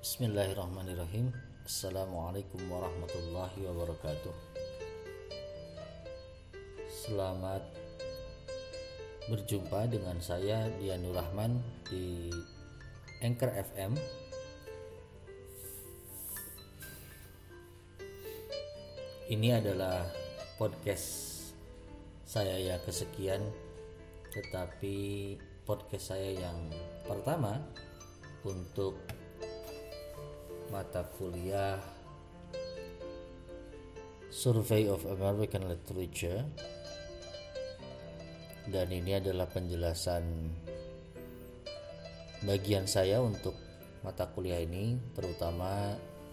Bismillahirrahmanirrahim. Assalamualaikum warahmatullahi wabarakatuh. Selamat berjumpa dengan saya Dianur Rahman di Anchor FM. Ini adalah podcast saya yang kesekian, tetapi podcast saya yang pertama untuk mata kuliah Survey of American Literature, dan ini adalah penjelasan bagian saya untuk mata kuliah ini, terutama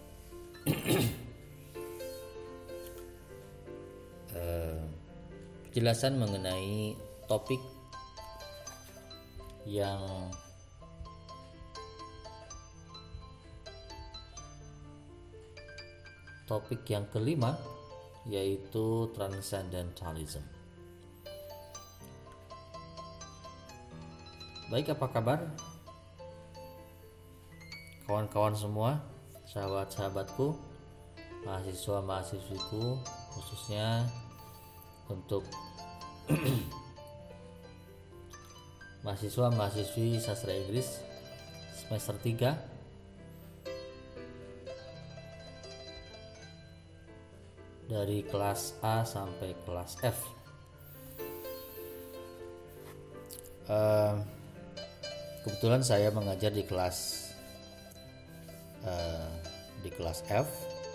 penjelasan mengenai topik yang kelima, yaitu Transcendentalism. Baik, apa kabar kawan-kawan semua, sahabat-sahabatku, mahasiswa-mahasiswiku, khususnya untuk mahasiswa-mahasiswi sastra Inggris semester 3 dari kelas A sampai kelas F. Kebetulan saya mengajar di kelas F,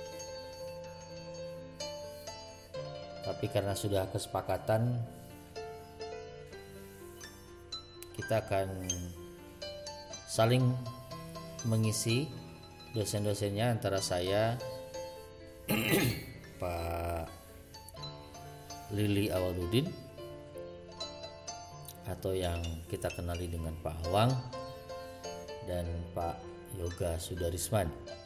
tapi karena sudah kesepakatan kita akan saling mengisi dosen-dosennya antara saya Pak Lili Awaludin, atau yang kita kenali dengan Pak Awang, dan Pak Yoga Sudarisman.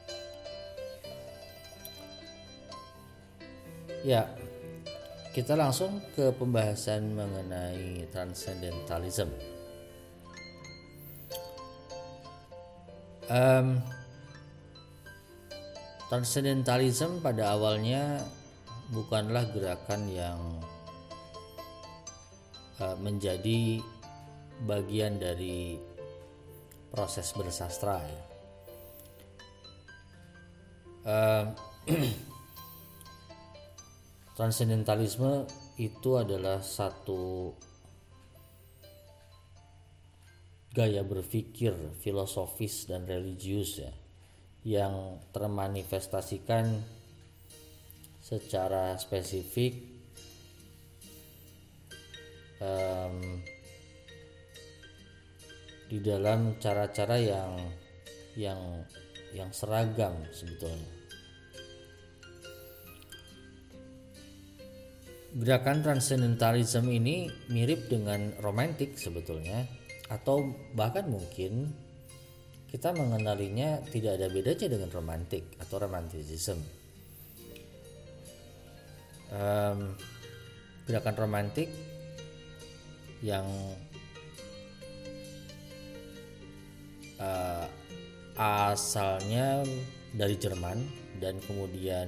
Ya, kita langsung ke pembahasan mengenai Transcendentalism. Transcendentalism pada awalnya bukanlah gerakan yang menjadi bagian dari proses bersastra, ya. Transcendentalisme itu adalah satu gaya berpikir filosofis dan religius, ya, yang termanifestasikan secara spesifik di dalam cara-cara yang seragam sebetulnya. Gerakan transcendentalism ini mirip dengan romantik sebetulnya, atau bahkan mungkin kita mengenalinya tidak ada bedanya dengan romantik atau romanticism. Gerakan romantik yang asalnya dari Jerman dan kemudian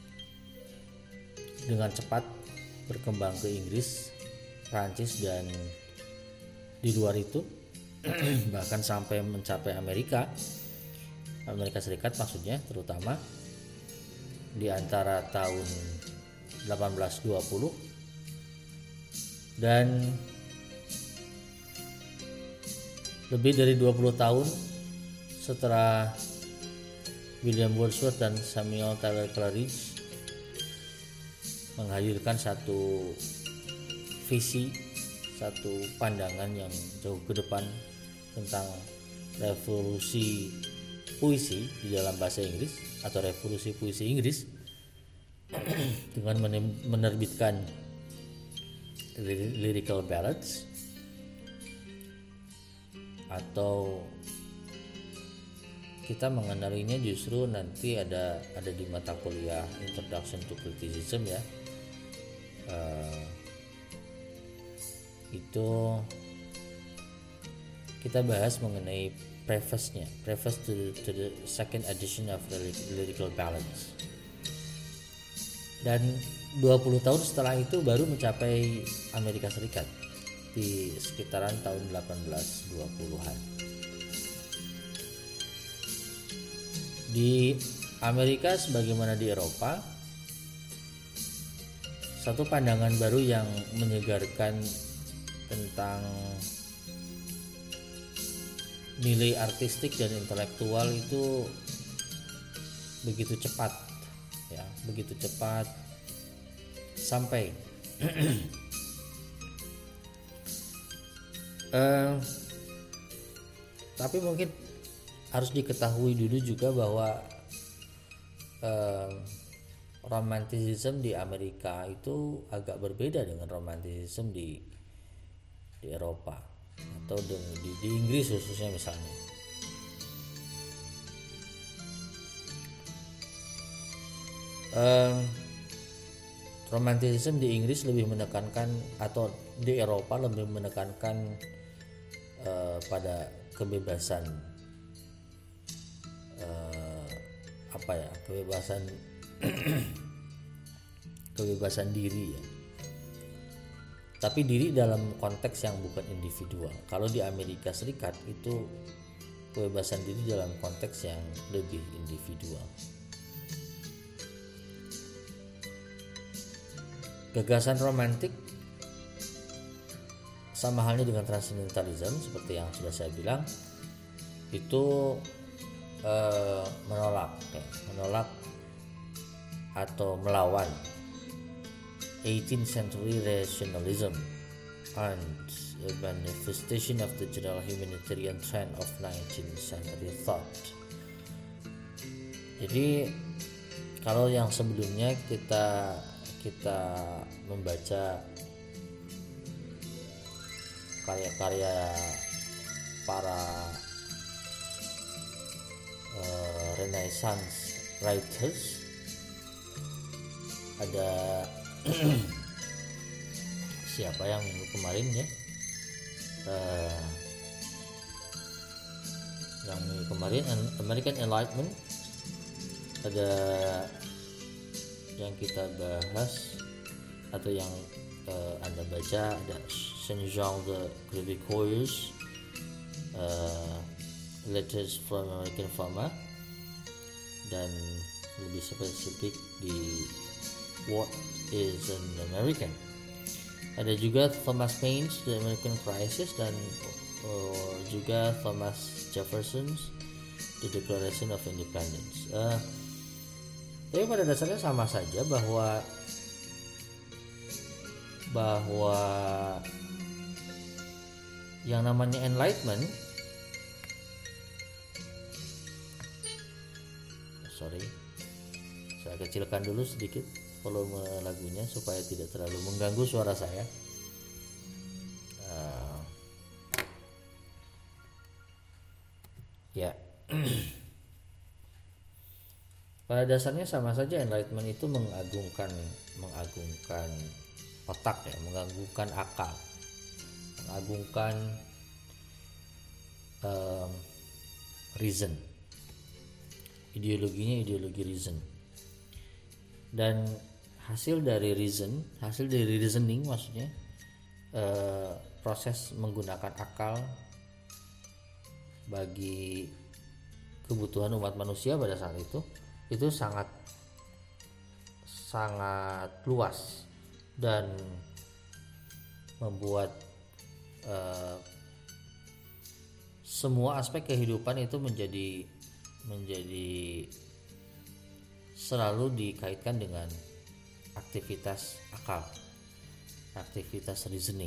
dengan cepat berkembang ke Inggris, Prancis, dan di luar itu bahkan sampai mencapai Amerika Serikat maksudnya, terutama di antara tahun 1820 dan lebih dari 20 tahun setelah William Wordsworth dan Samuel Taylor Coleridge menghadirkan satu visi, satu pandangan yang jauh ke depan tentang revolusi puisi di dalam bahasa Inggris atau revolusi puisi Inggris dengan menerbitkan lyrical ballads, atau kita mengenalinya justru nanti ada di mata kuliah Introduction to Criticism, ya. Itu kita bahas mengenai preface to the second edition of the Lyrical Ballads. Dan 20 tahun setelah itu baru mencapai Amerika Serikat di sekitaran tahun 1820-an. Di Amerika sebagaimana di Eropa, satu pandangan baru yang menyegarkan tentang nilai artistik dan intelektual itu begitu cepat sampai tapi mungkin harus diketahui dulu juga bahwa romanticism di Amerika itu agak berbeda dengan romanticism di Eropa atau di Inggris khususnya misalnya. Romanticism di Inggris lebih menekankan, atau di Eropa lebih menekankan pada kebebasan kebebasan diri ya. Tapi diri dalam konteks yang bukan individual. Kalau di Amerika Serikat itu kebebasan diri dalam konteks yang lebih individual. Gagasan romantik sama halnya dengan transcendentalism seperti yang sudah saya bilang, itu menolak atau melawan 18th century rationalism and a manifestation of the general humanitarian trend of 19th century thought. Jadi kalau yang sebelumnya kita membaca karya-karya para Renaissance writers, ada siapa yang minggu kemarin ya, yang minggu kemarin American Enlightenment, ada yang kita bahas atau yang Anda baca, ada Saint-Jean de Crévecoeur, Letters from American Farmer, dan lebih spesifik di What is an American. Ada juga Thomas Paine's The American Crisis, dan juga Thomas Jefferson's The Declaration of Independence. Tapi pada dasarnya sama saja bahwa yang namanya Enlightenment, saya kecilkan dulu sedikit volume lagunya supaya tidak terlalu mengganggu suara saya. Ya. Pada dasarnya sama saja Enlightenment itu mengagungkan otak ya, mengagungkan akal, mengagungkan reason. Ideologinya ideologi reason. Dan hasil dari reasoning maksudnya, proses menggunakan akal bagi kebutuhan umat manusia pada saat itu sangat luas dan membuat semua aspek kehidupan itu menjadi selalu dikaitkan dengan aktivitas akal, aktivitas reasoning.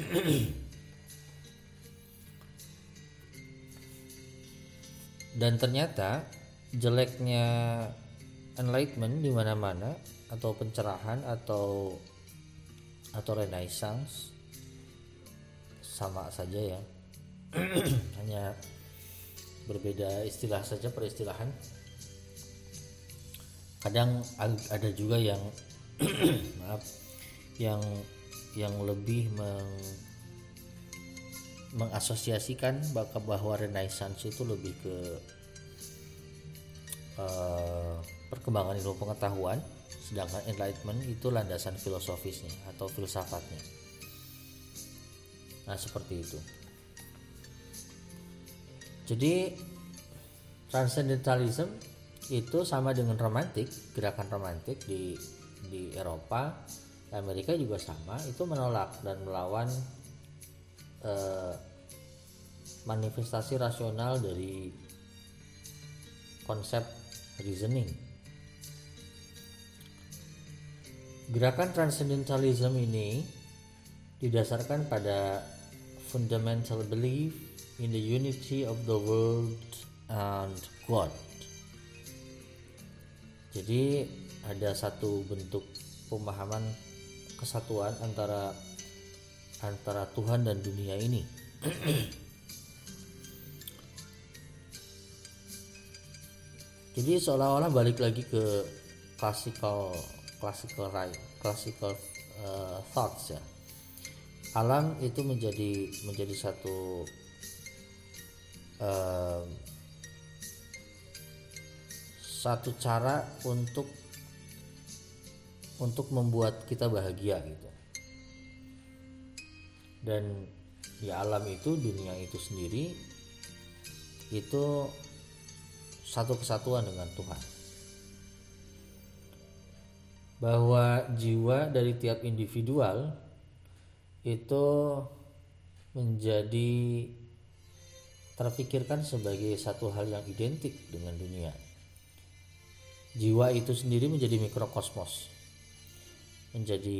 Dan ternyata jeleknya Enlightenment di mana-mana, atau pencerahan atau Renaissance sama saja ya. Hanya berbeda istilah saja, peristilahan. Kadang ada juga yang yang lebih mengasosiasikan bahwa Renaissance itu lebih ke perkembangan ilmu pengetahuan, sedangkan Enlightenment itu landasan filosofisnya atau filsafatnya. Nah, seperti itu. Jadi Transcendentalism itu sama dengan romantik, gerakan romantik di Eropa, Amerika juga sama, itu menolak dan melawan manifestasi rasional dari konsep reasoning. Gerakan Transcendentalism ini didasarkan pada fundamental belief in the unity of the world and God. Jadi ada satu bentuk pemahaman kesatuan antara Tuhan dan dunia ini. Jadi seolah-olah balik lagi ke classical thoughts ya. Alam itu menjadi satu cara untuk membuat kita bahagia gitu. Dan di alam itu, dunia itu sendiri itu satu kesatuan dengan Tuhan. Bahwa jiwa dari tiap individual itu menjadi terpikirkan sebagai satu hal yang identik dengan dunia. Jiwa itu sendiri menjadi mikrokosmos, menjadi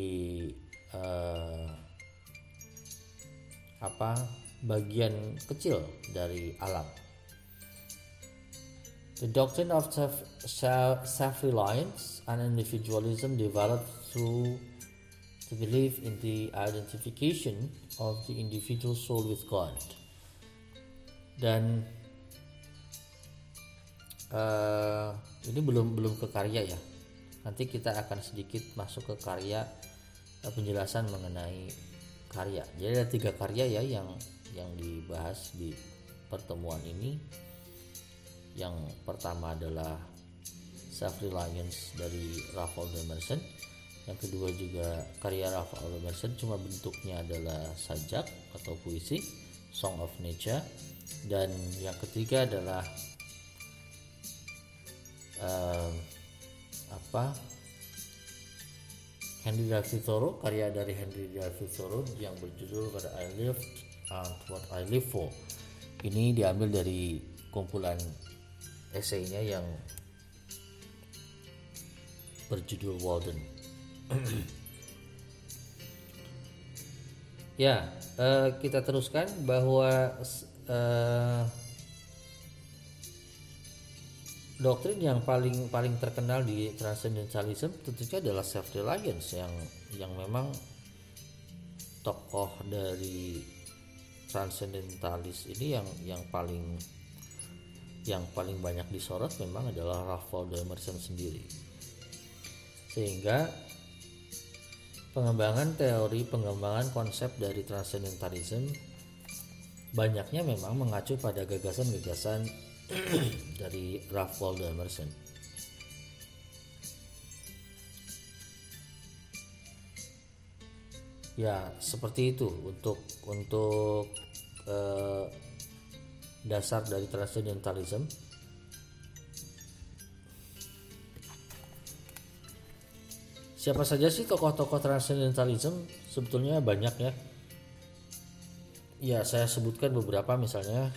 bagian kecil dari alam. The doctrine of self-reliance and individualism developed through the belief in the identification of the individual soul with God. Dan ini belum ke karya ya. Nanti kita akan sedikit masuk ke karya, penjelasan mengenai karya. Jadi ada 3 karya ya yang dibahas di pertemuan ini. Yang pertama adalah Self-Reliance dari Ralph Waldo Emerson. Yang kedua juga karya Ralph Waldo Emerson, cuma bentuknya adalah sajak atau puisi, Song of Nature. Dan yang ketiga adalah Henry David Thoreau, karya dari Henry David Thoreau yang berjudul What I Lived and What I Live For. Ini diambil dari kumpulan esainya yang berjudul Walden. Ya, kita teruskan bahwa doktrin yang paling terkenal di Transcendentalism tentunya adalah self-reliance yang memang tokoh dari Transcendentalis ini yang paling banyak disorot memang adalah Ralph Waldo Emerson sendiri. Sehingga pengembangan konsep dari Transcendentalism banyaknya memang mengacu pada gagasan-gagasan dari Ralph Waldo Emerson. Ya, seperti itu untuk dasar dari Transcendentalism. Siapa saja sih tokoh-tokoh Transcendentalism? Sebetulnya banyak ya. Ya, saya sebutkan beberapa, misalnya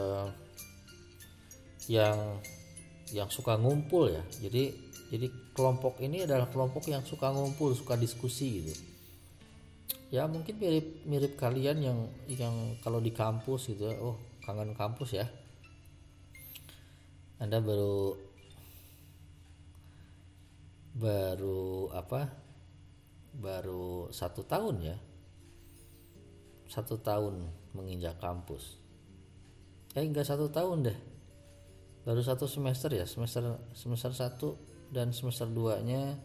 yang suka ngumpul ya. Jadi kelompok ini adalah kelompok yang suka ngumpul, suka diskusi gitu. Ya mungkin mirip kalian yang kalau di kampus gitu, kangen kampus ya. Anda baru 1 tahun ya, 1 tahun menginjak kampus. Enggak 1 tahun deh, baru 1 semester ya, semester 1 dan semester 2 nya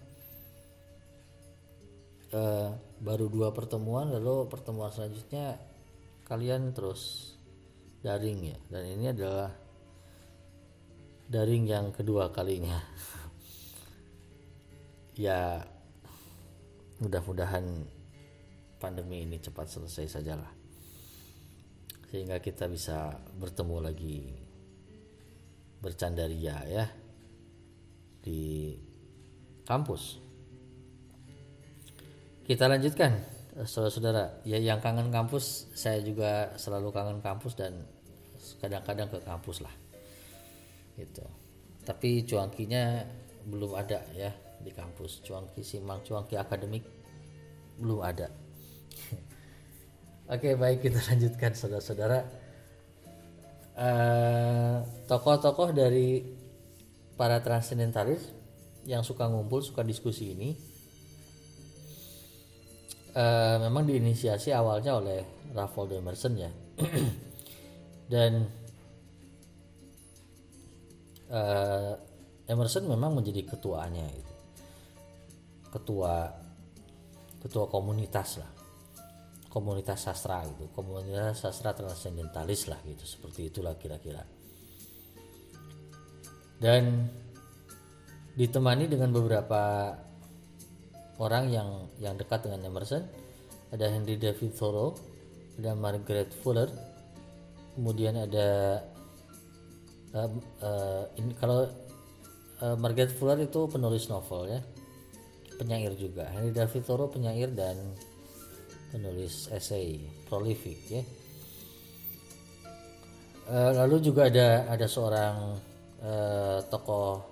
baru 2 pertemuan, lalu pertemuan selanjutnya kalian terus daring ya, dan ini adalah daring yang kedua kalinya. Ya mudah-mudahan pandemi ini cepat selesai sajalah, sehingga kita bisa bertemu lagi bercandaria ya di kampus. Kita lanjutkan, saudara-saudara. Ya, yang kangen kampus, saya juga selalu kangen kampus dan kadang-kadang ke kampus lah. Gitu. Tapi cuankinya belum ada ya di kampus. Cuanki akademik belum ada. Oke, baik, kita lanjutkan saudara-saudara. Tokoh-tokoh dari para transcendentalis yang suka ngumpul, suka diskusi ini memang diinisiasi awalnya oleh Ralph Waldo Emerson ya. Dan Emerson memang menjadi ketuanya gitu. Ketua komunitas lah. Komunitas sastra gitu. Komunitas sastra transcendentalis lah gitu. Seperti itulah kira-kira. Dan ditemani dengan beberapa orang yang dekat dengan Emerson. Ada Henry David Thoreau, ada Margaret Fuller, kemudian ada Margaret Fuller itu penulis novel ya, penyair juga. Henry David Thoreau penyair dan penulis esai, prolific ya. Lalu juga ada seorang tokoh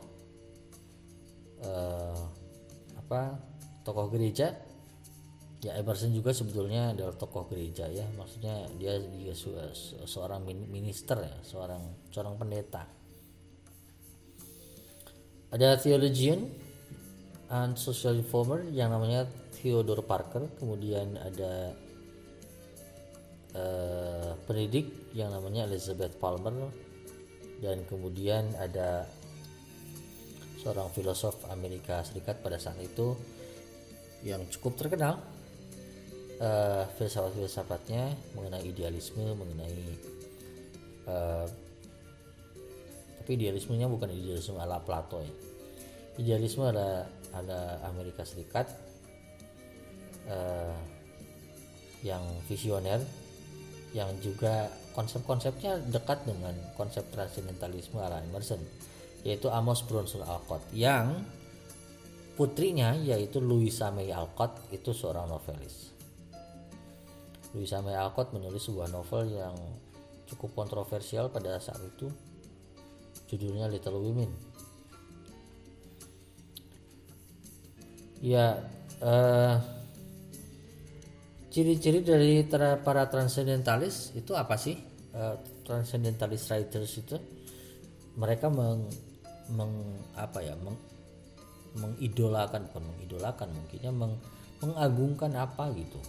tokoh gereja ya. Emerson juga sebetulnya adalah tokoh gereja ya, maksudnya dia seorang minister ya, seorang pendeta. Ada theologian and social reformer yang namanya Theodore Parker, kemudian ada pendidik yang namanya Elizabeth Palmer, dan kemudian ada seorang filosof Amerika Serikat pada saat itu yang cukup terkenal, filsafat-filsafatnya mengenai idealisme, tapi idealismenya bukan idealisme ala Plato ya. Idealisme ala Amerika Serikat yang visioner, yang juga konsep-konsepnya dekat dengan konsep transcendentalisme ala Emerson, yaitu Amos Bronson Alcott, yang putrinya yaitu Louisa May Alcott itu seorang novelis. Louisa May Alcott menulis sebuah novel yang cukup kontroversial pada saat itu, judulnya Little Women. Ya, ciri-ciri dari para transcendentalis itu apa sih? Transcendentalist writers itu mereka mengidolakan mungkinnya mengagungkan apa gitu.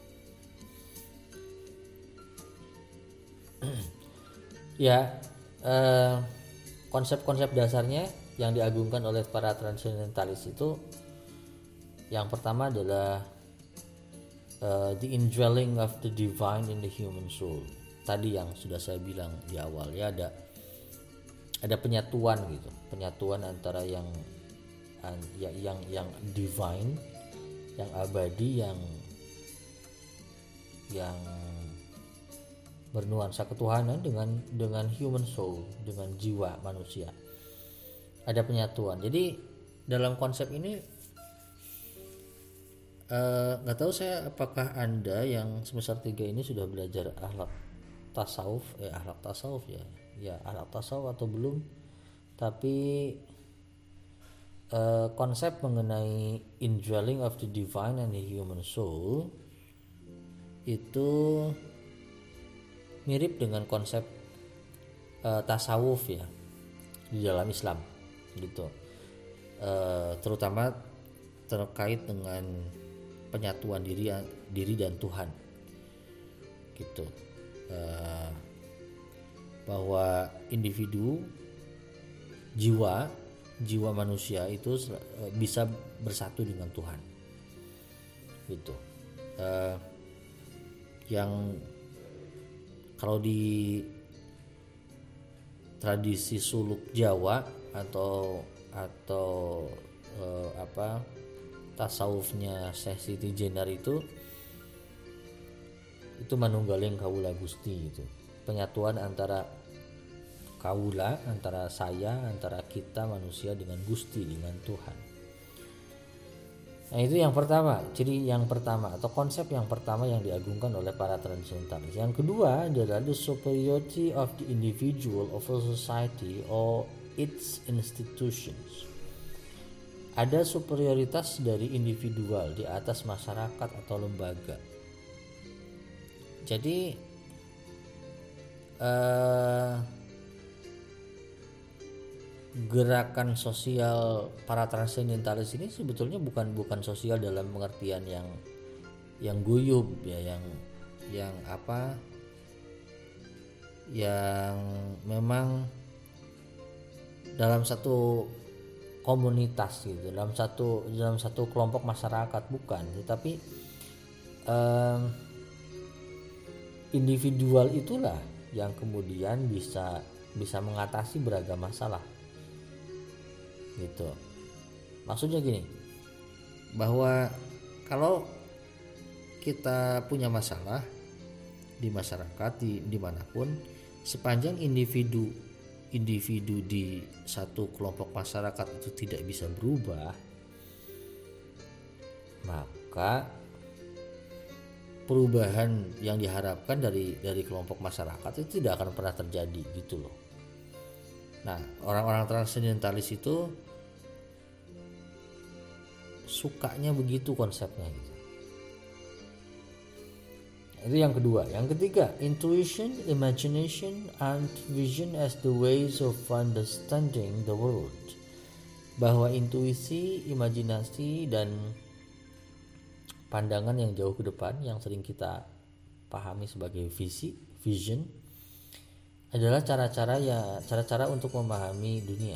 Ya, konsep-konsep dasarnya yang diagungkan oleh para transcendentalis itu, yang pertama adalah the indwelling of the divine in the human soul. Tadi yang sudah saya bilang di awal ya, ada penyatuan gitu, penyatuan antara yang divine, yang abadi, yang bernuansa ketuhanan dengan human soul, dengan jiwa manusia. Ada penyatuan. Jadi dalam konsep ini nggak tahu saya apakah Anda yang semester 3 ini sudah belajar akhlak tasawuf atau belum, tapi konsep mengenai indwelling of the divine and the human soul itu mirip dengan konsep tasawuf ya di dalam Islam gitu, terutama terkait dengan penyatuan diri dan Tuhan gitu, bahwa individu, jiwa manusia itu bisa bersatu dengan Tuhan gitu. Yang Kalau di tradisi suluk Jawa atau tasawufnya Syekh Siti Jenar itu manunggaling kawula Gusti gitu. Penyatuan antara kawula, antara saya, antara kita manusia dengan Gusti, dengan Tuhan. Nah, itu yang pertama, ciri yang pertama atau konsep yang pertama yang diagungkan oleh para transcendentalis. Yang kedua adalah the superiority of the individual over society or its institutions. Ada superioritas dari individual di atas masyarakat atau lembaga. Jadi gerakan sosial para transcendentalis ini sebetulnya bukan sosial dalam pengertian yang guyub ya, yang memang dalam satu komunitas gitu, dalam satu kelompok masyarakat, bukan, tetapi individual itulah yang kemudian bisa mengatasi beragam masalah gitu. Maksudnya gini, bahwa kalau kita punya masalah di masyarakat, dimanapun, sepanjang individu di satu kelompok masyarakat itu tidak bisa berubah, maka perubahan yang diharapkan dari kelompok masyarakat itu tidak akan pernah terjadi gitu loh. Nah, orang-orang transcendentalis itu sukanya begitu konsepnya gitu. Itu yang kedua. Yang ketiga, intuition, imagination, and vision as the ways of understanding the world. Bahwa intuisi, imajinasi, dan pandangan yang jauh ke depan yang sering kita pahami sebagai vision adalah cara-cara untuk memahami dunia.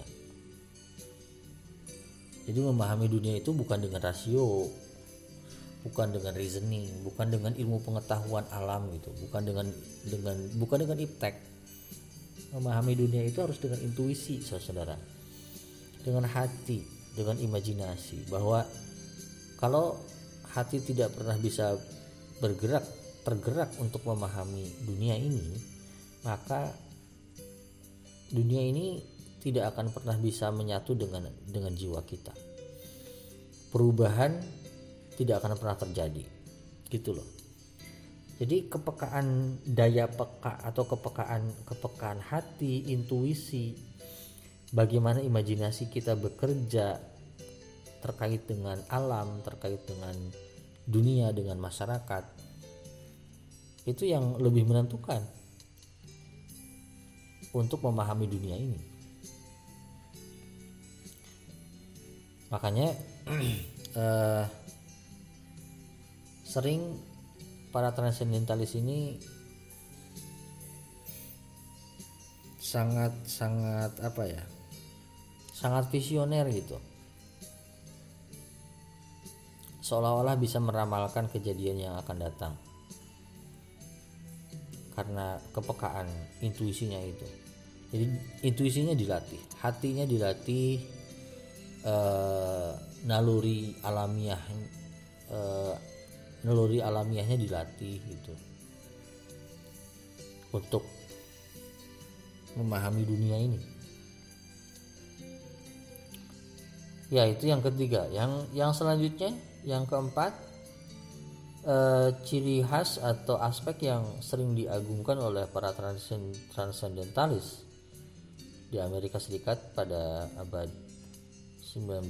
Jadi memahami dunia itu bukan dengan rasio, bukan dengan reasoning, bukan dengan ilmu pengetahuan alam gitu, bukan dengan iptek. Memahami dunia itu harus dengan intuisi, saudara, dengan hati, dengan imajinasi. Bahwa kalau hati tidak pernah bisa tergerak untuk memahami dunia ini, maka dunia ini tidak akan pernah bisa menyatu dengan jiwa kita. Perubahan tidak akan pernah terjadi, gitu loh. Jadi kepekaan, daya peka atau kepekaan hati, intuisi, bagaimana imajinasi kita bekerja terkait dengan alam, terkait dengan dunia, dengan masyarakat, itu yang lebih menentukan untuk memahami dunia ini. Makanya sering para transcendentalis ini sangat visioner gitu, seolah-olah bisa meramalkan kejadian yang akan datang karena kepekaan intuisinya itu. Jadi intuisinya dilatih, hatinya dilatih, naluri alamiahnya dilatih gitu untuk memahami dunia ini. Ya, itu yang ketiga. Yang selanjutnya, yang keempat, ciri khas atau aspek yang sering diagungkan oleh para transcendentalis di Amerika Serikat pada abad 19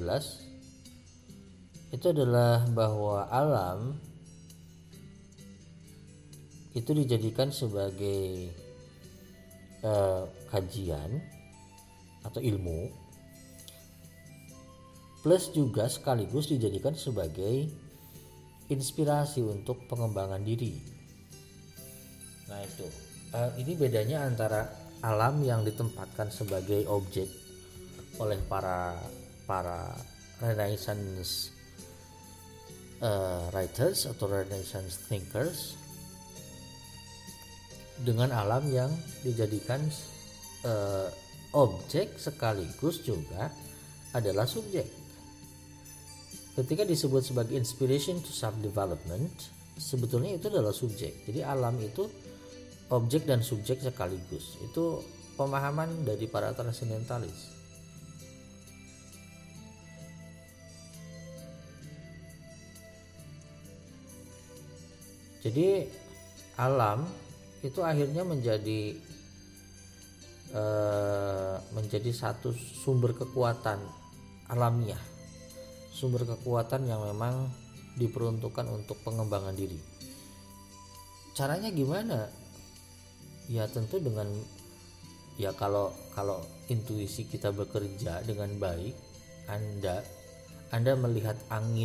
itu adalah bahwa alam itu dijadikan sebagai kajian atau ilmu, plus juga sekaligus dijadikan sebagai inspirasi untuk pengembangan diri. Nah itu, ini bedanya antara alam yang ditempatkan sebagai objek oleh para Renaissance writers atau Renaissance thinkers, dengan alam yang dijadikan objek sekaligus juga adalah subjek. Ketika disebut sebagai inspiration to self development, sebetulnya itu adalah subjek. Jadi alam itu objek dan subjek sekaligus. Itu pemahaman dari para transendentalis. Jadi alam itu akhirnya menjadi satu sumber kekuatan alamiah, sumber kekuatan yang memang diperuntukkan untuk pengembangan diri. Caranya gimana? Ya tentu dengan kalau intuisi kita bekerja dengan baik, Anda melihat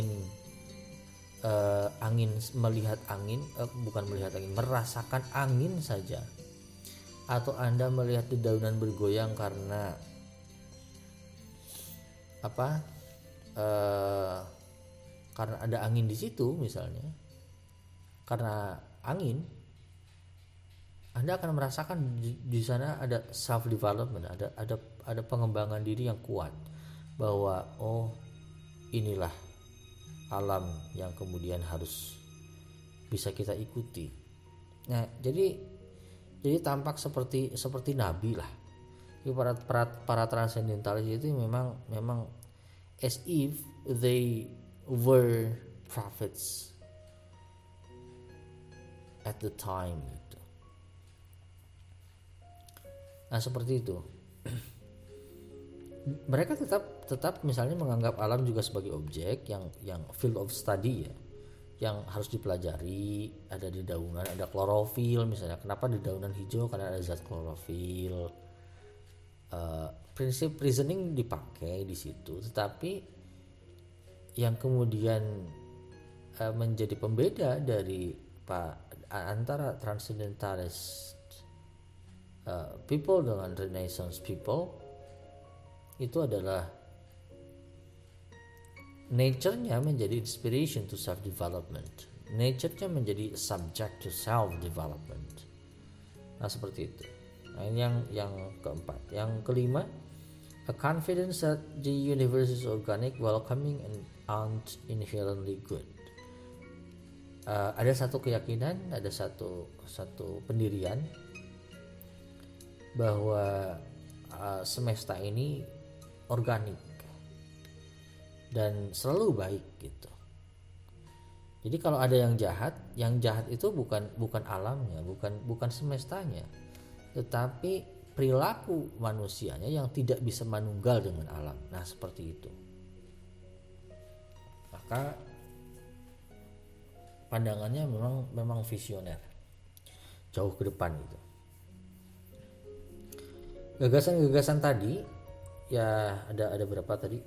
merasakan angin saja, atau Anda melihat dedaunan bergoyang karena karena ada angin di situ misalnya, karena angin, Anda akan merasakan di sana ada self development, ada pengembangan diri yang kuat, bahwa inilah alam yang kemudian harus bisa kita ikuti. Nah, jadi tampak seperti nabi lah. Para transendentalis itu memang as if they were prophets at the time gitu. Nah, seperti itu. Mereka tetap misalnya menganggap alam juga sebagai objek yang field of study ya, yang harus dipelajari. Ada dedaunan, ada klorofil misalnya. Kenapa dedaunan hijau? Karena ada zat klorofil. Prinsip reasoning dipakai di situ, tetapi yang kemudian menjadi pembeda dari antara transcendentalis people dengan Renaissance people itu adalah nature-nya menjadi inspiration to self development, nature-nya menjadi subject to self development. Nah, seperti itu. Nah, ini yang keempat. Yang kelima, a confidence that the universe is organic, welcoming, and inherently good. Ada satu keyakinan, ada satu pendirian bahwa semesta ini organik dan selalu baik gitu. Jadi kalau ada yang jahat itu bukan alamnya, bukan semestanya, tetapi perilaku manusianya yang tidak bisa manunggal dengan alam. Nah, seperti itu. Maka pandangannya memang visioner, jauh ke depan gitu. Gagasan-gagasan tadi ya ada berapa tadi?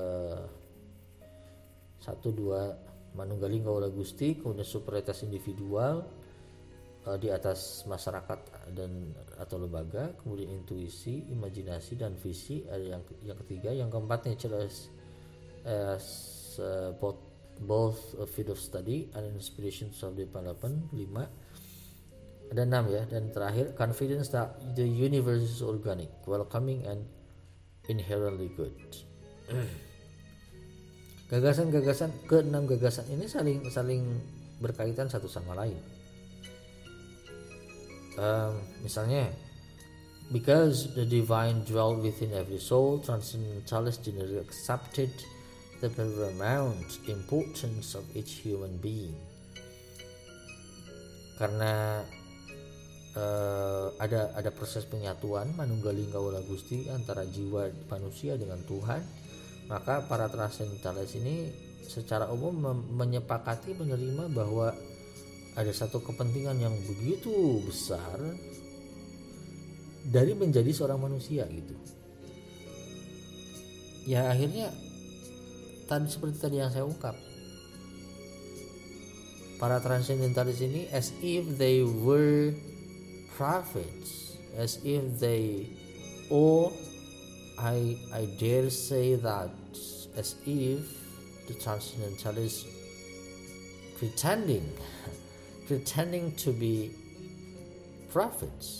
1, 2, manunggaling kaula Gusti, kemudian superioritas individual di atas masyarakat dan atau lembaga, kemudian intuisi, imajinasi, dan visi. Ada yang ketiga, yang keempat, nature as both a field of study and inspiration to self development. 5. Ada 6 ya, dan terakhir, confidence that the universe is organic, welcoming, and inherently good. Gagasan-gagasan ke-6 gagasan ini saling berkaitan satu sama lain. Misalnya, because the divine dwelt within every soul, transcendentalists generally accepted the paramount importance of each human being. Karena ada proses penyatuan manunggaling kaula Gusti antara jiwa manusia dengan Tuhan, maka para transcendentalis ini secara umum menyepakati, menerima bahwa ada satu kepentingan yang begitu besar dari menjadi seorang manusia gitu. Ya akhirnya seperti tadi yang saya ungkap, para transcendentalis ini as if they were prophets, as if they, I dare say that, as if the transcendentalists pretending to be prophets.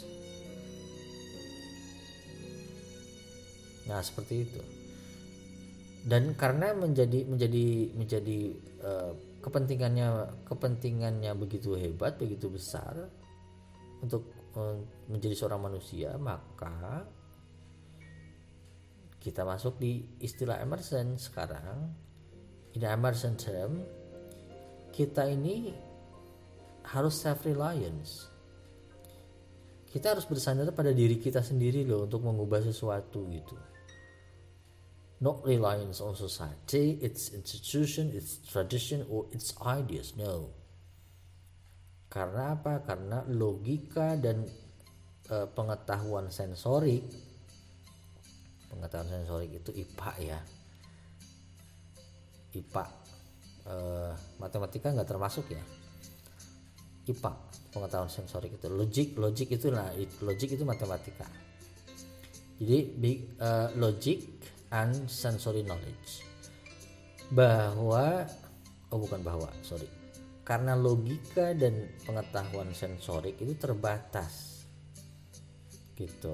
Nah, seperti itu. Dan karena menjadi kepentingannya begitu hebat, begitu besar untuk menjadi seorang manusia, maka kita masuk di istilah Emerson sekarang. In Emerson term, kita ini harus self-reliance. Kita harus bersandar pada diri kita sendiri loh untuk mengubah sesuatu gitu. Not reliance on society, its institution, its tradition, or its ideas. No. Karena apa? Karena logika dan pengetahuan sensorik itu IPA ya. IPA, matematika nggak termasuk ya. IPA, pengetahuan sensorik itu. Logik itu matematika. Jadi logic and sensory knowledge. Karena logika dan pengetahuan sensorik itu terbatas gitu.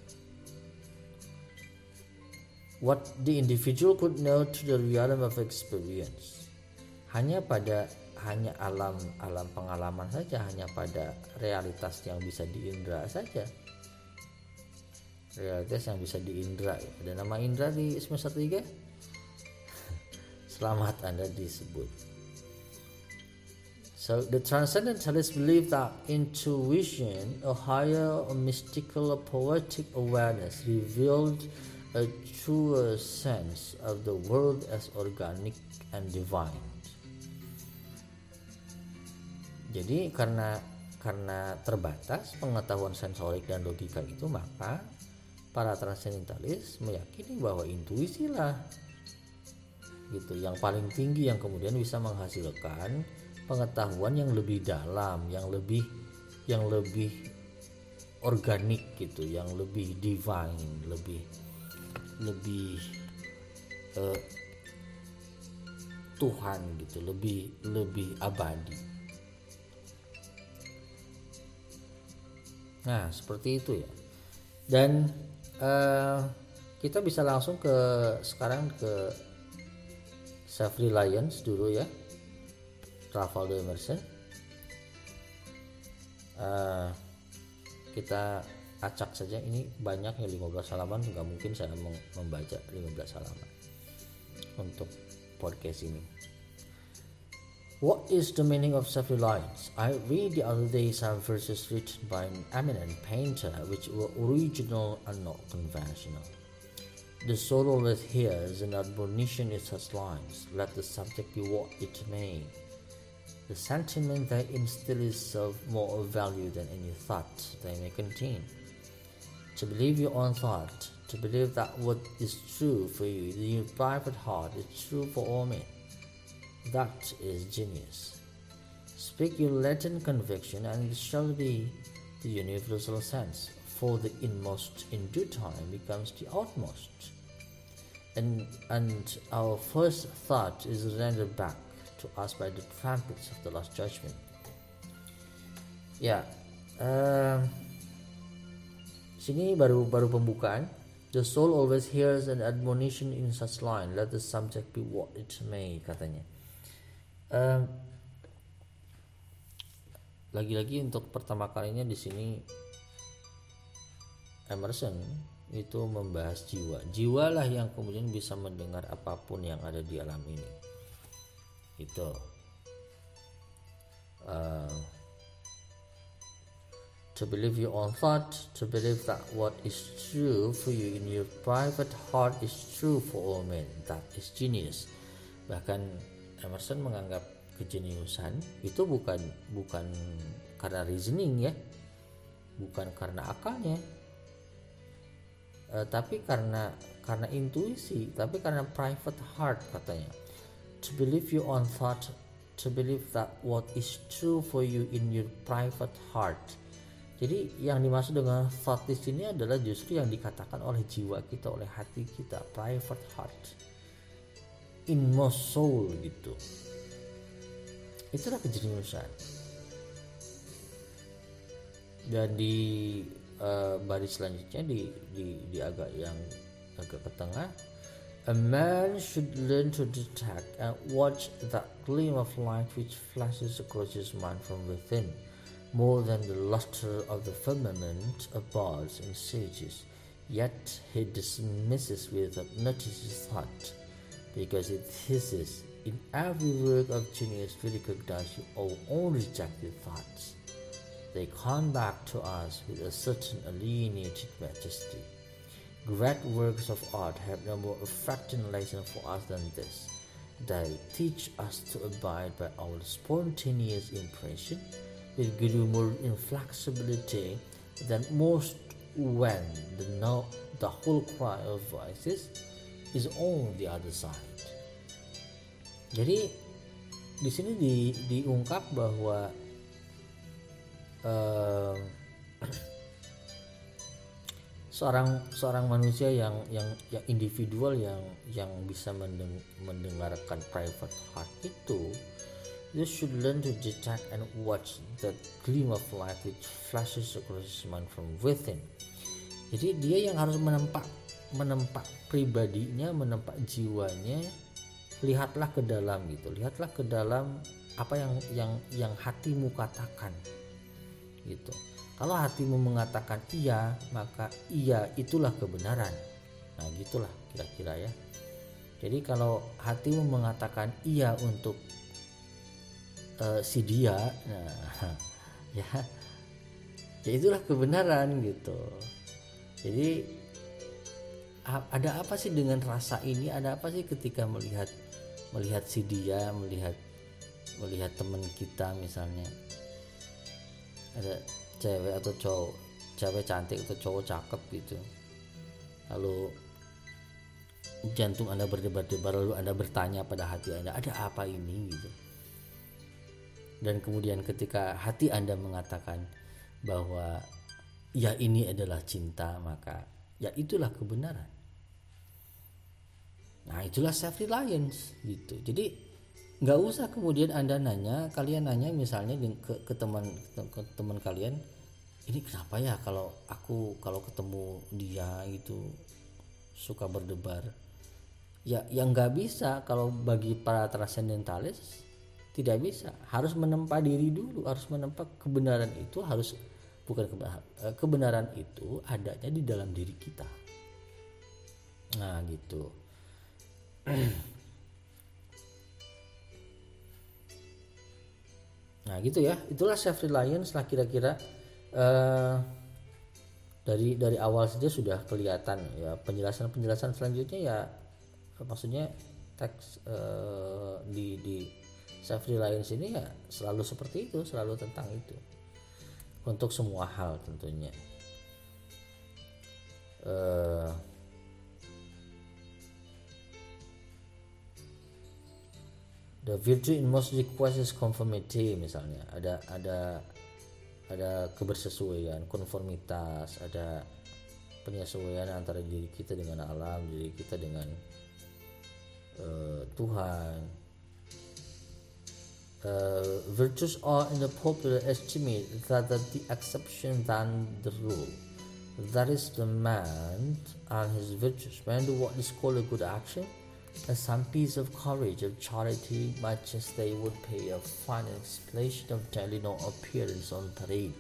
What the individual could know to the realm of experience. Hanya alam pengalaman saja, hanya pada realitas yang bisa diindra saja. Realitas yang bisa diindra. Ada nama indra di semester 3? Selamat, Anda disebut. So the transcendentalists believe that intuition, a higher, a mystical, a poetic awareness revealed a truer sense of the world as organic and divine. Jadi karena terbatas pengetahuan sensorik dan logika itu, maka para transcendentalis meyakini bahwa intuisi lah gitu yang paling tinggi, yang kemudian bisa menghasilkan pengetahuan yang lebih dalam, yang lebih organik gitu, yang lebih divine, lebih Tuhan gitu, lebih abadi. Nah, seperti itu ya. Dan kita bisa langsung sekarang ke self reliance dulu ya, Ralph Waldo Emerson. Kita acak saja, ini banyaknya 15 halaman, nggak mungkin saya membaca 15 halaman untuk podcast ini. What is the meaning of self-reliance? I read the other day some verses written by an eminent painter which were original and not conventional. The soul always hears an admonition in such lines, let the subject be what it may. The sentiment they instill is of more value than any thought they may contain. To believe your own thought, to believe that what is true for you in your private heart is true for all men. That is genius. Speak your latent conviction and it shall be the universal sense, for the inmost in due time becomes the outmost. And our first thought is rendered back to us by the trumpets of the last judgment. Ya, sini baru pembukaan. The soul always hears an admonition in such line, let the subject be what it may, katanya. Lagi-lagi untuk pertama kalinya di sini Emerson itu membahas jiwa lah yang kemudian bisa mendengar apapun yang ada di alam ini. Itu to believe your own thought, to believe that what is true for you in your private heart is true for all men. That is genius. Bahkan Emerson menganggap kejeniusan itu bukan karena reasoning ya, bukan karena akalnya, tapi karena intuisi, tapi karena private heart katanya. To believe your own thought, to believe that what is true for you in your private heart. Jadi yang dimaksud dengan thought di sini adalah justru yang dikatakan oleh jiwa kita, oleh hati kita, private heart, inmost soul gitu. Itulah kejeniusan. Dan di baris selanjutnya di agak ke tengah, a man should learn to detect and watch that gleam of light which flashes across his mind from within, more than the luster of the firmament of bards and sages. Yet he dismisses without notice his thought, because it hisses in every work of genius we recognize your own rejected thoughts. They come back to us with a certain alienated majesty. Great works of art have no more affecting lesson for us than this. They teach us to abide by our spontaneous impression with more inflexibility than most, when the whole cry of voices is on the other side. Jadi di sini diungkap bahwa seorang manusia yang individual yang bisa mendengarkan private heart itu, you should learn to detect and watch the gleam of light which flashes across his mind from within. Jadi dia yang harus menempa pribadinya, menempa jiwanya. Lihatlah ke dalam gitu, lihatlah ke dalam apa yang hatimu katakan gitu. Kalau hatimu mengatakan iya, maka iya itulah kebenaran. Nah gitulah kira-kira ya. Jadi kalau hatimu mengatakan iya untuk si dia, nah ya itulah kebenaran gitu. Jadi ada apa sih dengan rasa ini? Ada apa sih ketika melihat si dia, melihat teman kita misalnya, ada cewek atau cowok, cewek cantik atau cowok cakep gitu, lalu jantung Anda berdebar-debar, lalu Anda bertanya pada hati Anda, ada apa ini gitu. Dan kemudian ketika hati Anda mengatakan bahwa ya ini adalah cinta, maka ya itulah kebenaran. Nah itulah self reliance gitu. Jadi nggak usah kemudian kalian nanya misalnya ke teman kalian, ini kenapa ya kalau ketemu dia itu suka berdebar. Ya yang nggak bisa, kalau bagi para transcendentalis tidak bisa, harus menempa diri dulu, harus menempa kebenaran itu, kebenaran itu adanya di dalam diri kita. Nah gitu. Nah gitu ya, itulah self reliance lah kira-kira. Dari awal saja sudah kelihatan ya, penjelasan selanjutnya ya, maksudnya teks di self reliance ini ya selalu seperti itu, selalu tentang itu untuk semua hal tentunya. The virtue in most requests is conformity, misalnya ada kebersesuaian, konformitas, ada penyesuaian antara diri kita dengan alam, diri kita dengan Tuhan. Virtues are in the popular estimate that the exception than the rule. That is, the man and his virtues when do what is called a good action, and some piece of courage, of charity, much as they would pay a fine explanation of daily no appearance on parade.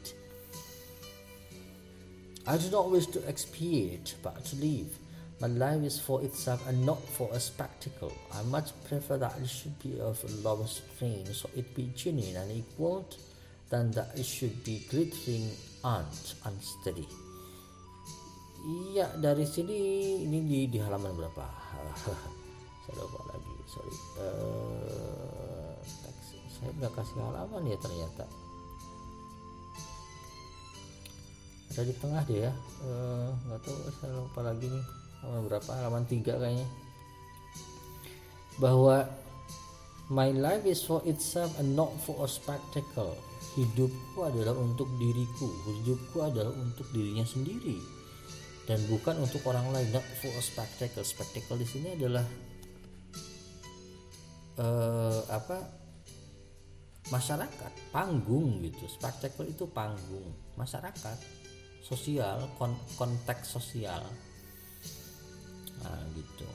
I do not wish to expiate, but to live. My life is for itself and not for a spectacle. I much prefer that it should be of a low strain, so it be genuine and equal, than that it should be glittering and unsteady. Iya, dari sini ini di halaman berapa? Saya lupa lagi, sorry. Saya nggak kasih halaman ya ternyata. Ada di tengah deh ya. Nggak tahu, saya lupa lagi nih. Halaman berapa? Halaman 3 kayaknya. Bahwa my life is for itself and not for a spectacle. Hidupku adalah untuk diriku. Hidupku adalah untuk dirinya sendiri dan bukan untuk orang lain. Not for a spectacle. Spectacle di sini adalah masyarakat, panggung gitu. Spektakel itu panggung masyarakat, sosial, konteks sosial. Nah, gitu.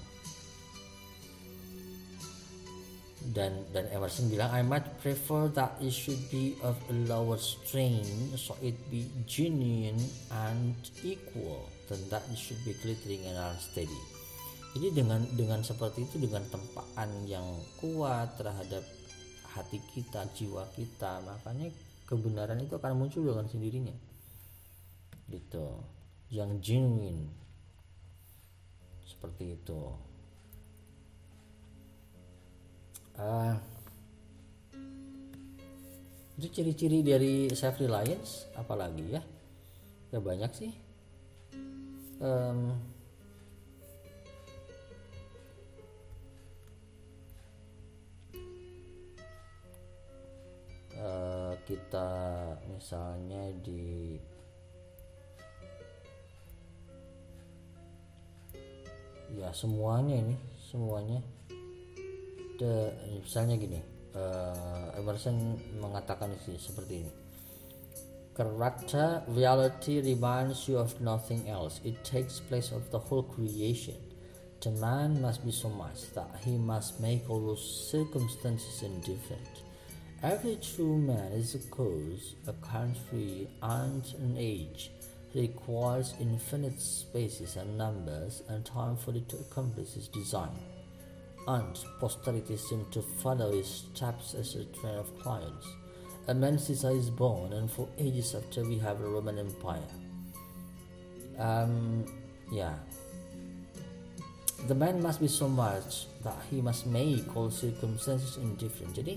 Dan Emerson bilang, I might prefer that it should be of a lower strain, so it be genuine and equal, than that it should be glittering and unsteady. Jadi dengan seperti itu, dengan tempaan yang kuat terhadap hati kita, jiwa kita, makanya kebenaran itu akan muncul dengan sendirinya, gitu. Yang genuine seperti itu. Itu ciri-ciri dari self reliance, apalagi ya? Ya banyak sih. Kita misalnya semuanya misalnya gini, Emerson mengatakan seperti ini. Character reality reminds you of nothing else. It takes place of the whole creation. The man must be so much that he must make all those circumstances indifferent. Every true man is a cause, a country, and an age. He requires infinite spaces and numbers and time for it to accomplish his design. And posterity seems to follow his steps as a train of clients. A man Caesar is born, and for ages after we have a Roman Empire. The man must be so much that he must make all circumstances indifferent. Jadi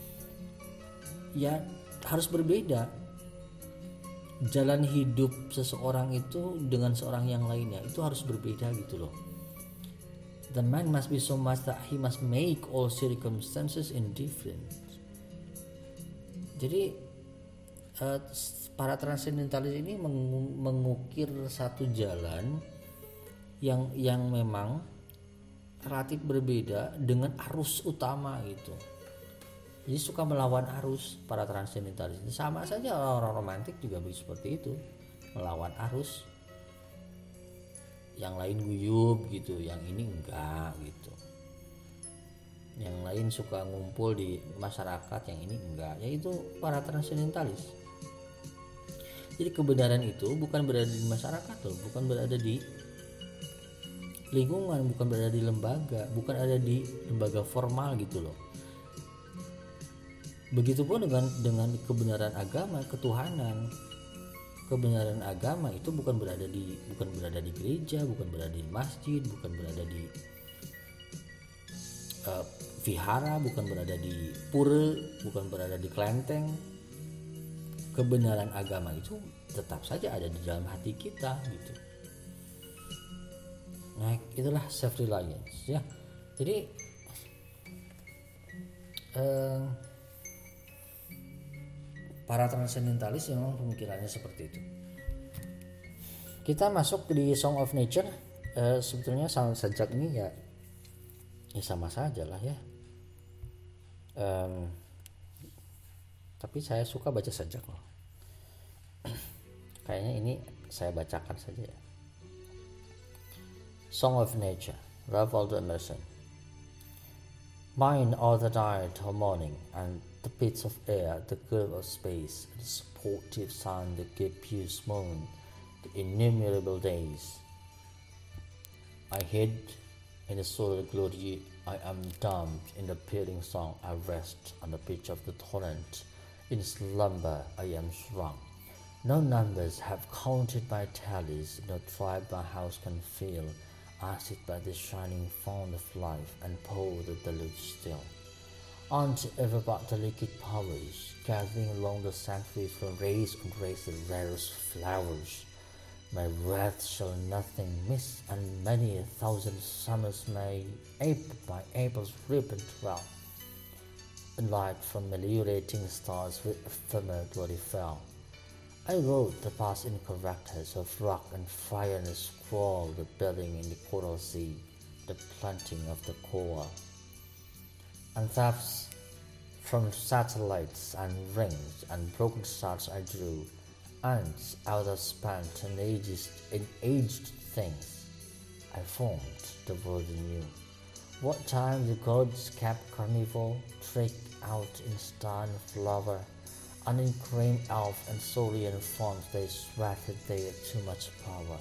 ya harus berbeda jalan hidup seseorang itu dengan seorang yang lainnya, itu harus berbeda gitu loh. The man must be so much that he must make all circumstances indifferent. Jadi para transendentalis ini mengukir satu jalan yang memang relatif berbeda dengan arus utama gitu. Jadi suka melawan arus para transendentalis. Sama saja orang romantik juga seperti itu, melawan arus. Yang lain guyup gitu, yang ini enggak gitu. Yang lain suka ngumpul di masyarakat, yang ini enggak. Yaitu para transendentalis. Jadi kebenaran itu bukan berada di masyarakat loh, bukan berada di lingkungan, bukan berada di lembaga, bukan ada di lembaga formal gitu loh. Begitupun dengan kebenaran agama, ketuhanan. Kebenaran agama itu bukan berada di gereja, bukan berada di masjid, bukan berada di vihara, bukan berada di pura, bukan berada di kelenteng. Kebenaran agama itu tetap saja ada di dalam hati kita gitu. Nah, itulah self reliance ya. Jadi para transendentalis memang pemikirannya seperti itu. Kita masuk di Song of Nature. Sebetulnya sajak ini ya sama saja lah ya. Tapi saya suka baca sajak loh. Kayaknya ini saya bacakan saja ya. Song of Nature, Ralph Waldo Emerson. Mine are the night or morning, and the bits of air, the curve of space, the sportive sun, the gaseous moon, the innumerable days. I hid in the solar glory, I am dumb in the pealing song, I rest on the pitch of the torrent, in slumber I am shrunk. No numbers have counted my tallies, no tribe my house can fill. I sit by the shining fount of life and pour the deluge still. Aren't ever but the liquid powers, gathering along the sanctuaries from race and race the rarest flowers. My wrath shall nothing miss, and many a thousand summers may my April's ribbon twirl. A light from meliorating stars with ephemeral glory fell. I wrote the past in characters of rock and fire, and scrawled the building in the coral sea, the planting of the koa. And thus From satellites and rings and broken stars I drew, ants out of spent and aged things. I formed the world anew. What time the gods kept carnival, tricked out in stone flower, and in crane elf and saurian forms they sweated they had too much power.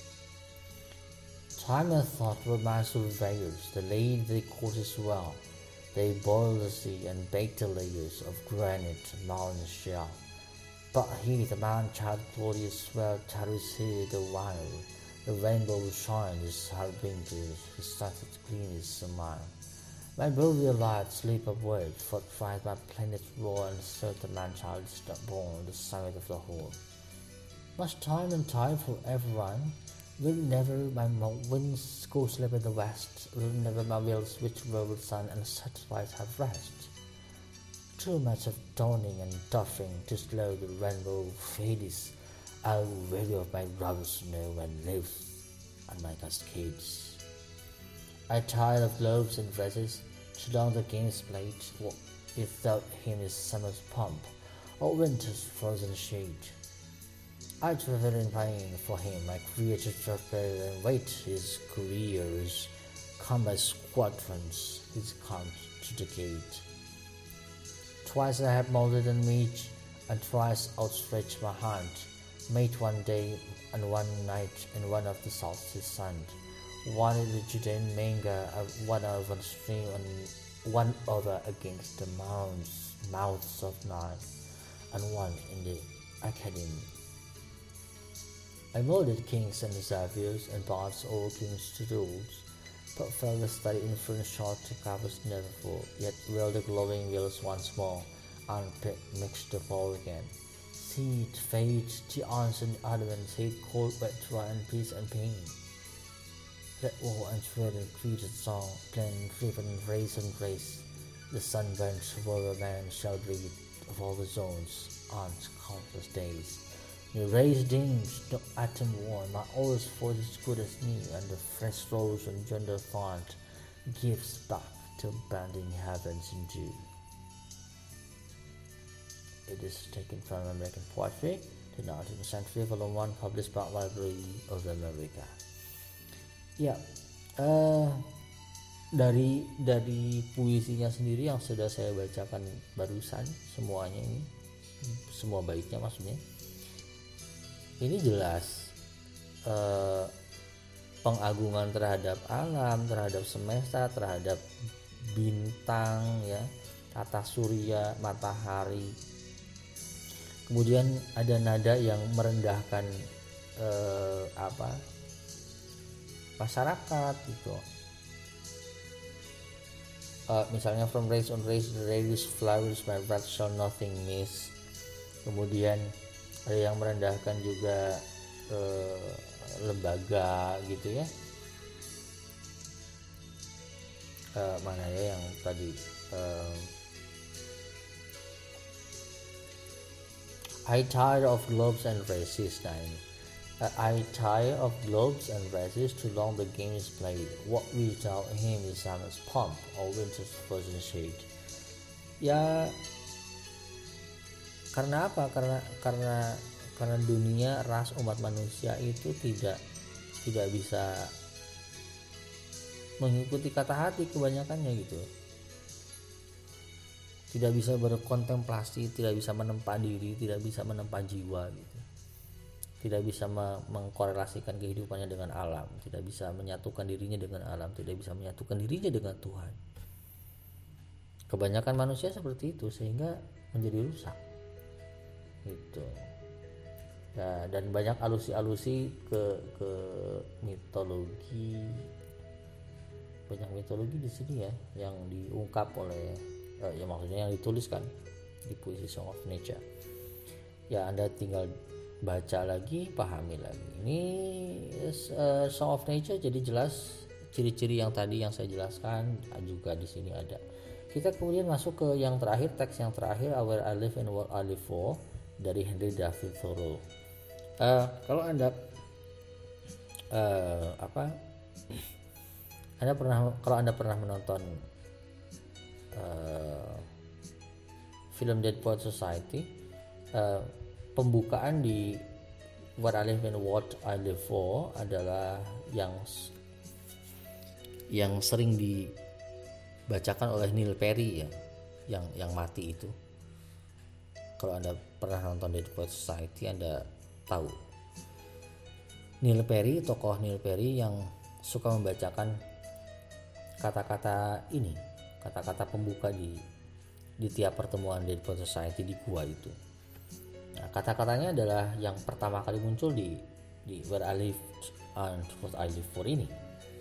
Time and thought were my surveyors, they laid their courses well. They boiled the sea and baked the layers of granite, mountain shell. But he, the man-child glorious well, tarries here the while. The rainbow shines his harbingers, his sunset clean his smile. My brilliant light sleep upward, fortified my planet's roar, and serve the man-child is not born, the summit of the whole. Must time and tide forever run? Will never my winds go slip in the west? Will never my wheels which roll with sun and satellites have rest? Too much of dawning and doffing to slow the rainbow fades. I'll weary of my rubber snow and live on my cascades. I tire of globes and dresses, too long the games played. Without him is summer's pomp, or winter's frozen shade. I travel in vain for him, my creature travel and wait his couriers, come by squadrons, his comes to the gate. Twice I have molded and meat, and twice outstretched my hand, made one day and one night in one of the solstice sun, one in the Judean manga, one over the stream, and one over against the mouths of Nile, and one in the academy. I molded kings and saviors and bards all kings to rules, but fell the study influence short to covers never full, yet will the glowing wheels once more, unpicked mixed the fall again. Seed, fate, geons and elements, hate, cold, wet, dry, and peace and pain. Let war and thread and created song, plan, driven, race and grace. The sunburnt warrior man shall breathe of all the zones, on countless days. New race deems no atom worn, my oldest force is good as new, and the fresh rose and gender font gives back to bending heavens in dew. It is taken from American Poetry, the 19th Century, Volume 1, published by Library of America. Ya, dari puisinya sendiri yang sudah saya bacakan barusan, semuanya ini, semua baiknya maksudnya. Ini jelas pengagungan terhadap alam, terhadap semesta, terhadap bintang, ya, tata surya, matahari. Kemudian ada nada yang merendahkan masyarakat gitu. Misalnya from race on race, the radius flowers, my breath shall nothing miss. Kemudian ada yang merendahkan juga lembaga gitu ya. Mana ya yang tadi I tire of globes and races. I tire of globes and races, too long the game is played. What without him is summer's pomp or winter's frozen shade. Ya, karena apa? Karena dunia, ras umat manusia itu tidak bisa mengikuti kata hati kebanyakannya gitu. Tidak bisa berkontemplasi, tidak bisa menempa diri, tidak bisa menempa jiwa gitu. Tidak bisa mengkorelasikan kehidupannya dengan alam, tidak bisa menyatukan dirinya dengan alam, tidak bisa menyatukan dirinya dengan Tuhan. Kebanyakan manusia seperti itu sehingga menjadi rusak. Gitu. Ya, dan banyak alusi-alusi ke mitologi. Banyak mitologi di sini ya yang diungkap oleh ya maksudnya yang dituliskan di puisi Song of Nature. Ya, Anda tinggal baca lagi, pahami lagi. Ini Song of Nature, jadi jelas ciri-ciri yang tadi yang saya jelaskan juga di sini ada. Kita kemudian masuk ke yang terakhir, teks yang terakhir, Where I Live and What I Live For, dari Henry David Thoreau. Kalau Anda kalau Anda pernah menonton film Dead Poets Society, pembukaan di What I Live and What I Live For adalah yang sering dibacakan oleh Neil Perry ya, yang mati itu. Kalau Anda pernah nonton Dead Poets Society, Anda tahu Neil Perry, tokoh Neil Perry yang suka membacakan kata-kata pembuka di tiap pertemuan Dead Poets Society di gua itu. Nah, kata-katanya adalah yang pertama kali muncul di Where I Live and What I Live For ini.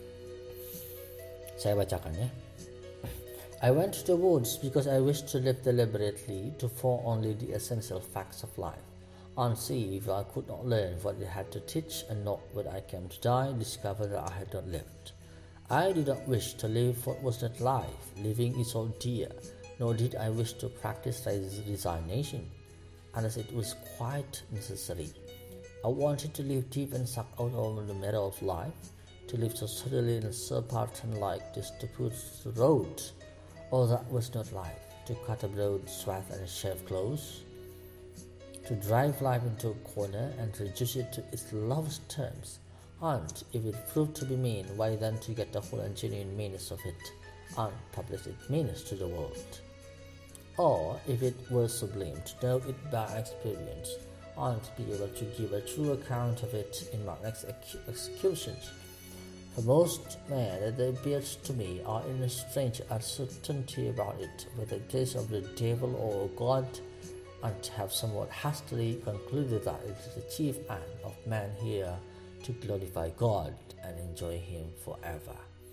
Saya bacakan ya. I went to the woods because I wished to live deliberately, to form only the essential facts of life, and see if I could not learn what it had to teach, and not when I came to die, discover that I had not lived. I did not wish to live what was not life, living is so dear, nor did I wish to practice resignation, unless it was quite necessary. I wanted to live deep and suck out all the matter of life, to live so steadily and so Spartan-like as to put the road. All that was not life, to cut a broad swath and shave close, to drive life into a corner and reduce it to its lowest terms, and if it proved to be mean, why then to get the whole and genuine meanness of it, and publish its meanness to the world. Or if it were sublime, to know it by experience, and to be able to give a true account of it in my next executions. For most men that appears to me are in a strange uncertainty about it, whether it is of the devil or God, and have somewhat hastily concluded that it is the chief aim of man here to glorify God and enjoy Him forever.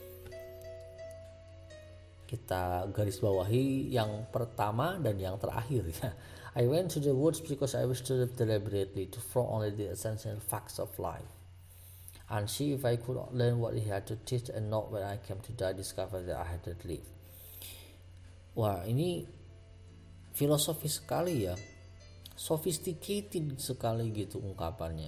Kita garis bawahi yang pertama dan yang terakhir ya. I went to the woods because I wished to live deliberately, to throw only the essential facts of life, and see if I could learn what he had to teach, and not when I came to die discover that I had not lived. Wah, ini filosofis sekali ya, sophisticated sekali gitu ungkapannya.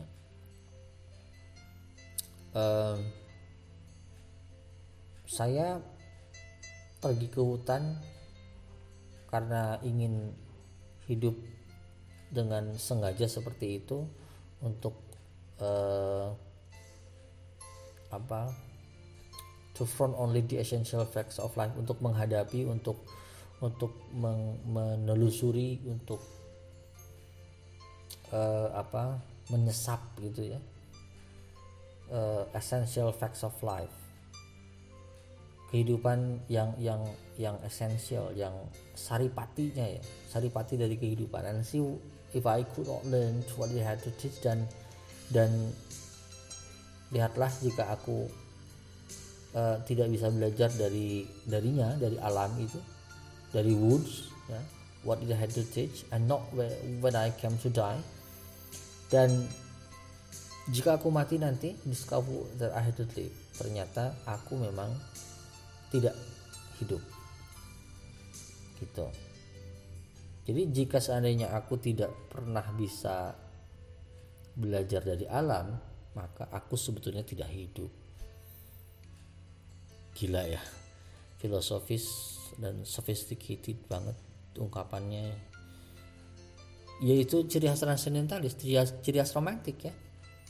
Saya pergi ke hutan karena ingin hidup dengan sengaja seperti itu, untuk to front only the essential facts of life, untuk menghadapi, untuk menelusuri, untuk menyesap gitu ya, essential facts of life, kehidupan yang esensial, yang saripatinya ya, saripati dari kehidupan. And see if I could not learn what they had to teach, dan lihatlah jika aku tidak bisa belajar darinya, dari alam itu, dari woods ya, what they had to teach, and not when I came to die. Dan jika aku mati nanti, discover that I had to live, ternyata aku memang tidak hidup gitu. Jadi jika seandainya aku tidak pernah bisa belajar dari alam, maka aku sebetulnya tidak hidup. Gila ya, filosofis dan sophisticated banget ungkapannya. Yaitu ciri khas transcendentalis, ciri khas romantik ya.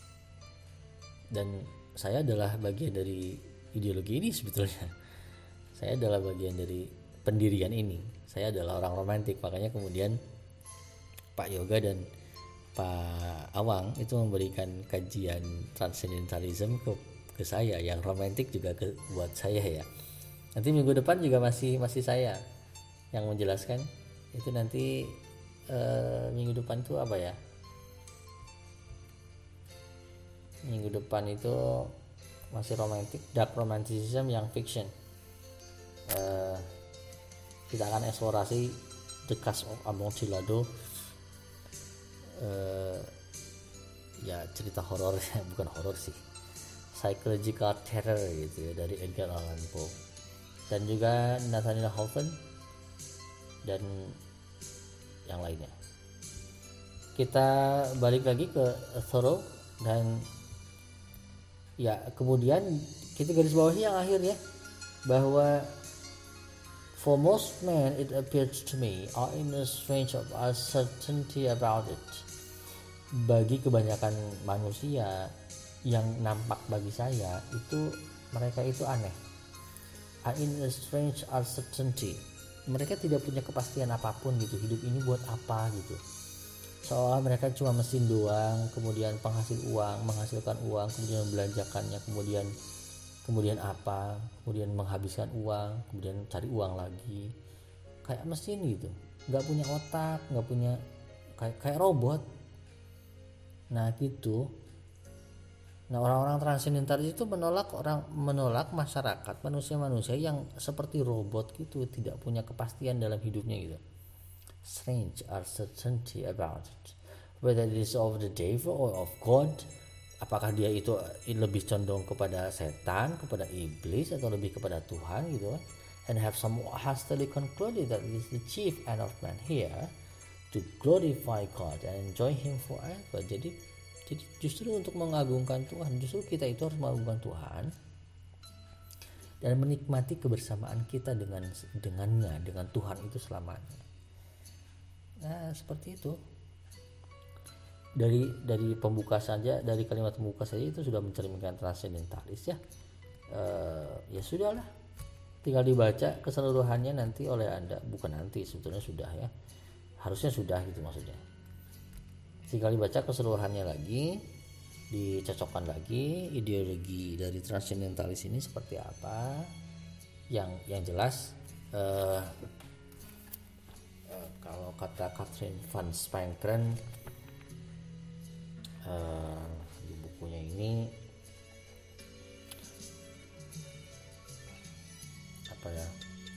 Dan saya adalah bagian dari ideologi ini sebetulnya. Saya adalah bagian dari pendirian ini. Saya adalah orang romantik, makanya kemudian Pak Yoga dan Pak Awang itu memberikan kajian transcendentalism ke saya, yang romantik juga buat saya ya. Nanti minggu depan juga masih saya yang menjelaskan itu. Nanti minggu depan itu apa ya? Minggu depan itu masih romantik, dark romanticism yang fiction. Kita akan eksplorasi The Cask of Amontillado, ya cerita horor, bukan horor sih, psychological terror gitu ya, dari Edgar Allan Poe, dan juga Nathaniel Hawthorne dan yang lainnya. Kita balik lagi ke Thoreau, dan ya kemudian kita garis bawahi yang akhir ya, bahwa For most men, it appears to me are in a strange of uncertainty about it. Bagi kebanyakan manusia yang nampak bagi saya itu mereka itu aneh. Are in a strange uncertainty. Mereka tidak punya kepastian apapun gitu. Hidup ini buat apa gitu. Seolah mereka cuma mesin doang, kemudian menghasilkan uang, kemudian membelanjakannya, kemudian apa, kemudian menghabiskan uang, kemudian cari uang lagi, kayak mesin gitu, nggak punya otak, nggak punya, kayak robot. Nah gitu. Nah orang-orang transendentalis itu menolak masyarakat, manusia yang seperti robot gitu, tidak punya kepastian dalam hidupnya gitu. Strange uncertainty about it, whether it is of the devil or of God. Apakah dia itu lebih condong kepada setan, kepada iblis, atau lebih kepada Tuhan gitu kan? And have some hastily concluded that it is the chief end of man here to glorify God and enjoy Him forever. Jadi justru untuk mengagungkan Tuhan, justru kita itu harus mengagungkan Tuhan dan menikmati kebersamaan kita dengan Tuhan itu selamanya. Nah seperti itu. Dari pembuka saja, dari kalimat pembuka saja itu sudah mencerminkan transendentalis ya. Ya sudahlah, tinggal dibaca keseluruhannya nanti oleh Anda. Bukan nanti, sebetulnya sudah ya, harusnya sudah gitu maksudnya. Tinggal dibaca keseluruhannya lagi, dicocokkan lagi ideologi dari transendentalis ini seperti apa. Yang jelas kalau kata Katrin van Spankeren di bukunya ini apa ya,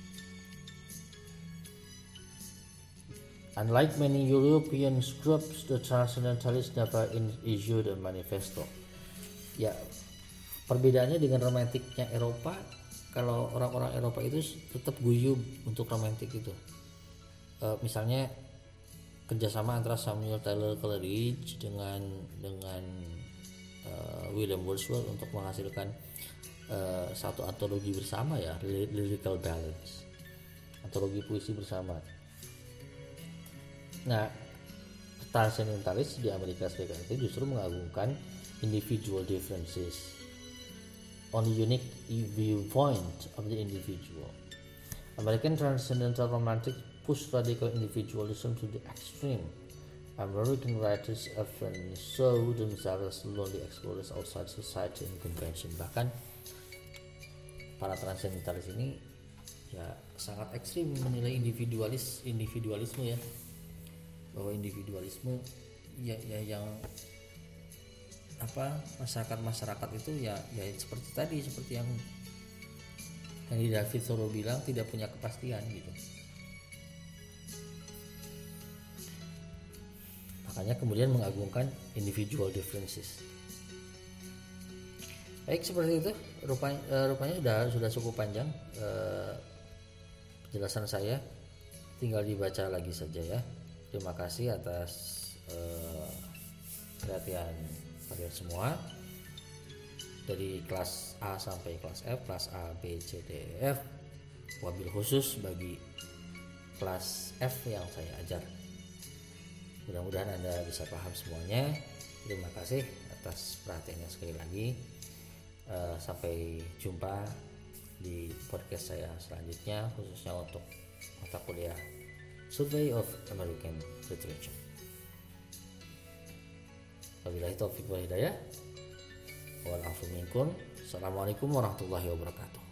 unlike many European groups, the Transcendentalists never issued a manifesto. Ya, perbedaannya dengan romantiknya Eropa, kalau orang-orang Eropa itu tetap guyub untuk romantik itu. Misalnya kerjasama antara Samuel Taylor Coleridge dengan William Wordsworth untuk menghasilkan satu antologi bersama ya, Lyrical Ballads, antologi puisi bersama. Nah, transcendentalis di Amerika Serikat itu justru mengagungkan individual differences on the unique viewpoint of the individual. American Transcendental Romantic push radical individualism to the extreme. American writers often show themselves lonely explorers outside society and convention. Bahkan para transcendentalis ini ya sangat ekstrim menilai individualisme ya, bahwa individualisme ya yang apa, masyarakat itu ya seperti yang Henry David Thoreau bilang, tidak punya kepastian gitu. Makanya kemudian mengagungkan individual differences. Baik, seperti itu rupanya sudah cukup panjang penjelasan saya, tinggal dibaca lagi saja ya. Terima kasih atas perhatian kalian semua, dari kelas A sampai kelas F, kelas A, B, C, D, E, F, wabil khusus bagi kelas F yang saya ajar. Mudah-mudahan Anda bisa paham semuanya. Terima kasih atas perhatiannya sekali lagi. Sampai jumpa di podcast saya selanjutnya, khususnya untuk mata kuliah Survey of American Literature. Wabillahi taufiq wal hidayah. Wal afu minkum. Assalamualaikum warahmatullahi wabarakatuh.